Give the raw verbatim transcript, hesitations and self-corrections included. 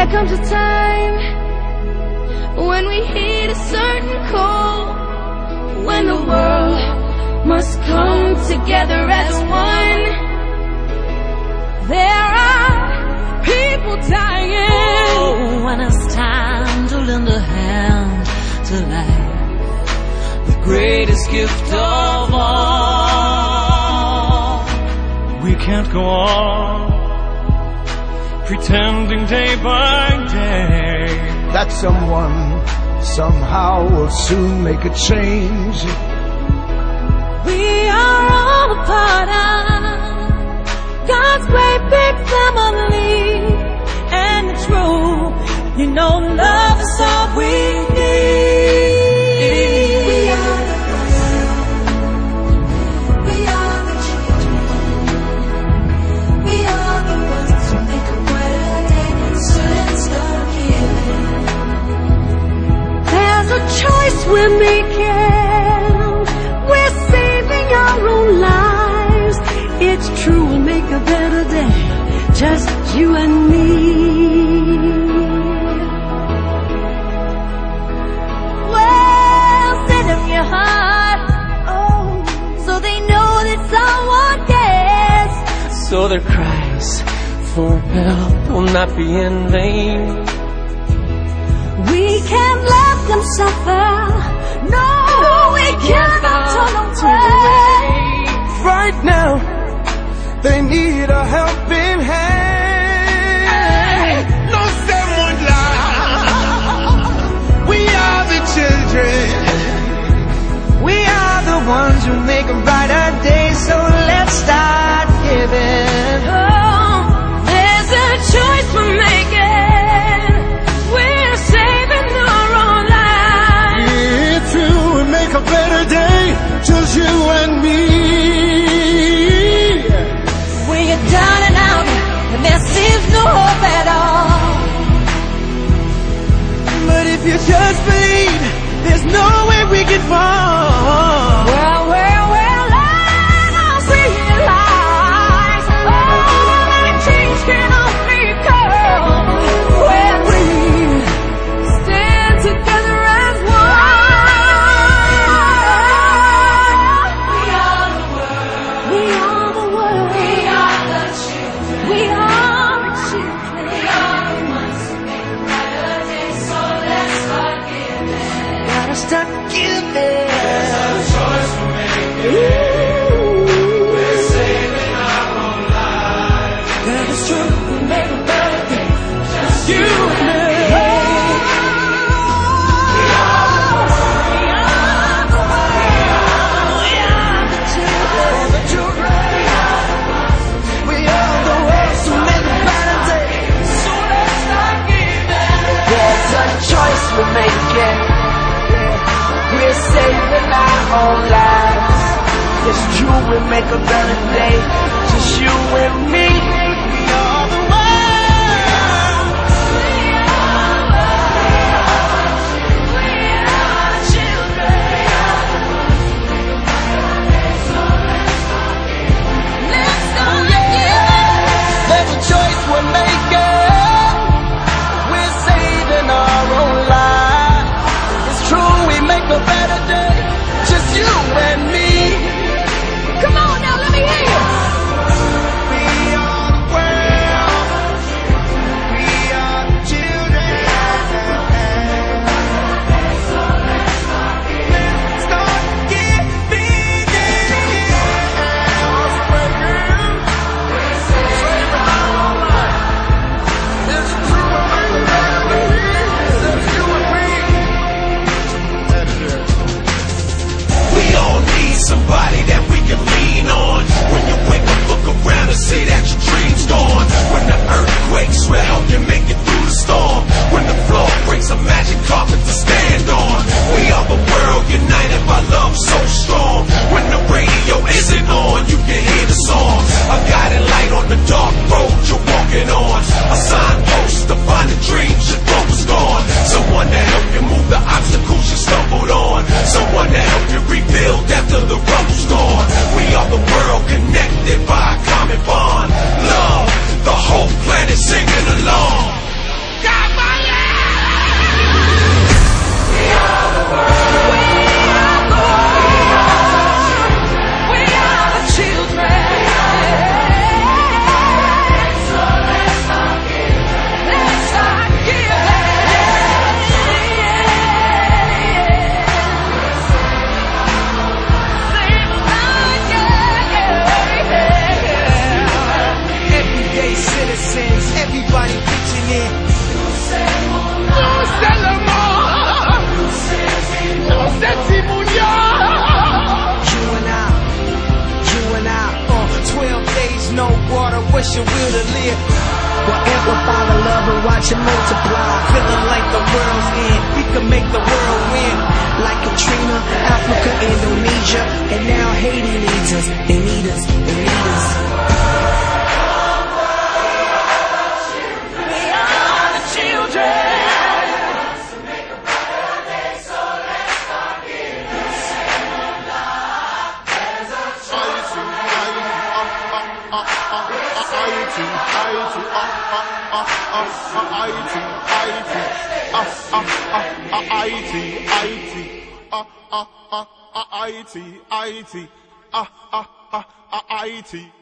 There comes a time when we heed a certain call, when the world must come together as one. There are people dying. Oh, when it's time to lend a hand to life, the greatest gift of all. We can't go on pretending day by day that someone somehow will soon make a change. We are all a part of God's great big family, and it's true, you know, love is all we need. We are the ones, we are the children, we are the ones who make a brighter day, so let's start giving. There's a choice we're making, we're saving our own lives. It's true, we'll make a better day, just you and me. Well, send them your heart, oh, so they know that someone cares, so their cries for help will not be in vain. We can't let them suffer, no, we cannot turn away. Right now, they need a helping hand. No someone lie. We are the children. We are the ones who make a brighter day. So let's start giving. Oh, there's a choice we're making. We're saving our own lives. It's true, we make a better day, just you and me. Down and out, and there seems no hope at all. But if you just believe, there's no way we can fall. Well, well, well, I don't see your lies. Oh, that change can only come when we stand together as one. We are the world. We are the world. We are the children. We are the children. We are the ones who make a brighter day. So let's start giving. Gotta start giving. There's a choice we're making. We're saving our own lives. That is true, we make a better day, just you and me. We are the world, we are the world, we are the children, the children. We are the ones who make a brighter day. So let's start giving. There's a choice we're making. We're saving our own lives. It's true, we make a better day, just you and me. We are the world. We are the world, we are the children. So let's start giving. Let's start giving. There's a choice we're making. We're saving our own lives. It's true, we make a better day, just you and me. Come on now, let me hear you. We are the world. We are the children. Let's start giving. We're saving our own lives. It's true, we're making a better day, just you and me. That's it. Haiti, Munya. You and I, you and I, uh, twelve days, no water, what's your will to live? Well, amplify the love and watch it multiply. Feeling like the world's end, we can make the world win. Like Katrina, Africa, Indonesia, and now Haiti needs us. They need us, they need us. We are the children. I T, I T, I T, I T, I T,